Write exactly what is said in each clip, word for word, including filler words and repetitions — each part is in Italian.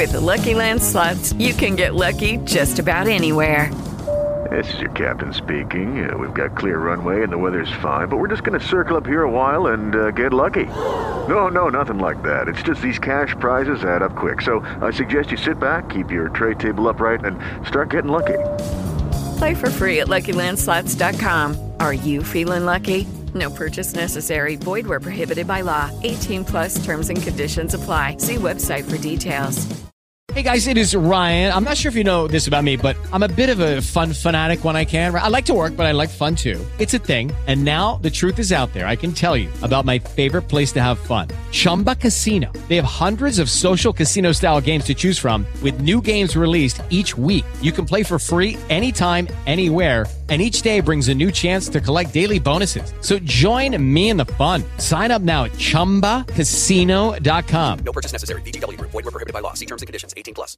With the Lucky Land Slots, you can get lucky just about anywhere. This is your captain speaking. Uh, we've got clear runway and the weather's fine, but we're just going to circle up here a while and uh, get lucky. No, no, nothing like that. It's just these cash prizes add up quick. So I suggest you sit back, keep your tray table upright, and start getting lucky. Play for free at Lucky Land Slots dot com. Are you feeling lucky? No purchase necessary. Void where prohibited by law. eighteen plus terms and conditions apply. See website for details. Hey guys, it is Ryan. I'm not sure if you know this about me, but I'm a bit of a fun fanatic when I can. I like to work, but I like fun too. It's a thing. And now the truth is out there. I can tell you about my favorite place to have fun. Chumba Casino. They have hundreds of social casino style games to choose from with new games released each week. You can play for free anytime, anywhere. And each day brings a new chance to collect daily bonuses. So join me in the fun. Sign up now at chumba casino dot com. No purchase necessary. V G W. Void where prohibited by law. See terms and conditions. eighteen plus.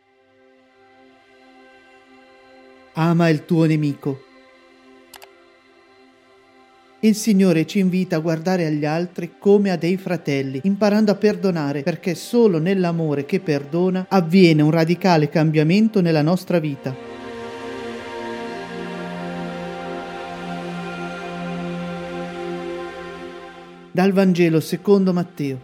Ama il tuo nemico. Il Signore ci invita a guardare agli altri come a dei fratelli, imparando a perdonare, perché solo nell'amore che perdona avviene un radicale cambiamento nella nostra vita. Dal Vangelo secondo Matteo.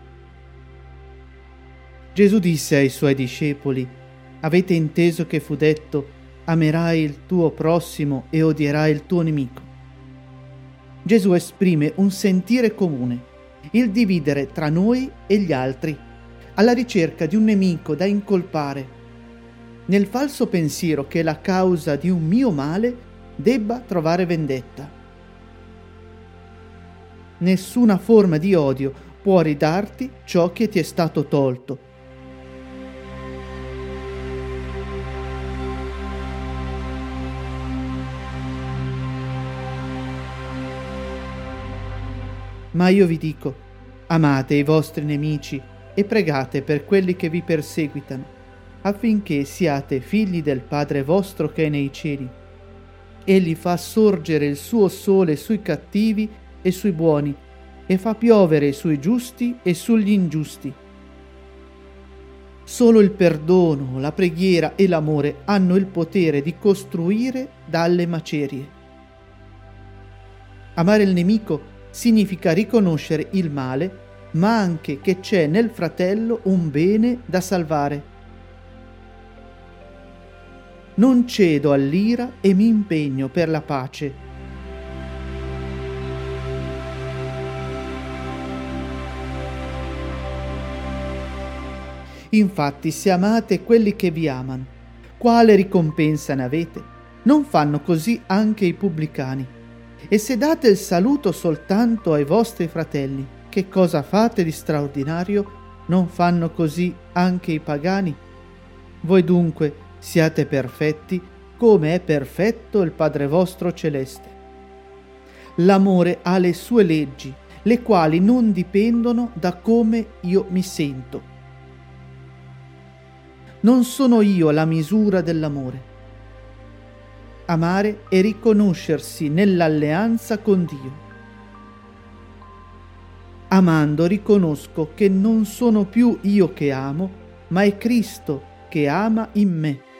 Gesù disse ai suoi discepoli: avete inteso che fu detto: amerai il tuo prossimo e odierai il tuo nemico. Gesù esprime un sentire comune, il dividere tra noi e gli altri, alla ricerca di un nemico da incolpare, nel falso pensiero che la causa di un mio male debba trovare vendetta. Nessuna forma di odio può ridarti ciò che ti è stato tolto. Ma io vi dico, amate i vostri nemici e pregate per quelli che vi perseguitano, affinché siate figli del Padre vostro che è nei cieli. Egli fa sorgere il suo sole sui cattivi e sui buoni, e fa piovere sui giusti e sugli ingiusti. Solo il perdono, la preghiera e l'amore hanno il potere di costruire dalle macerie. Amare il nemico significa riconoscere il male, ma anche che c'è nel fratello un bene da salvare. Non cedo all'ira e mi impegno per la pace. Infatti, se amate quelli che vi amano, quale ricompensa ne avete? Non fanno così anche i pubblicani? E se date il saluto soltanto ai vostri fratelli, che cosa fate di straordinario? Non fanno così anche i pagani? Voi dunque siate perfetti, come è perfetto il Padre vostro celeste. L'amore ha le sue leggi, le quali non dipendono da come io mi sento. Non sono io la misura dell'amore. Amare è riconoscersi nell'alleanza con Dio. Amando riconosco che non sono più io che amo, ma è Cristo che ama in me.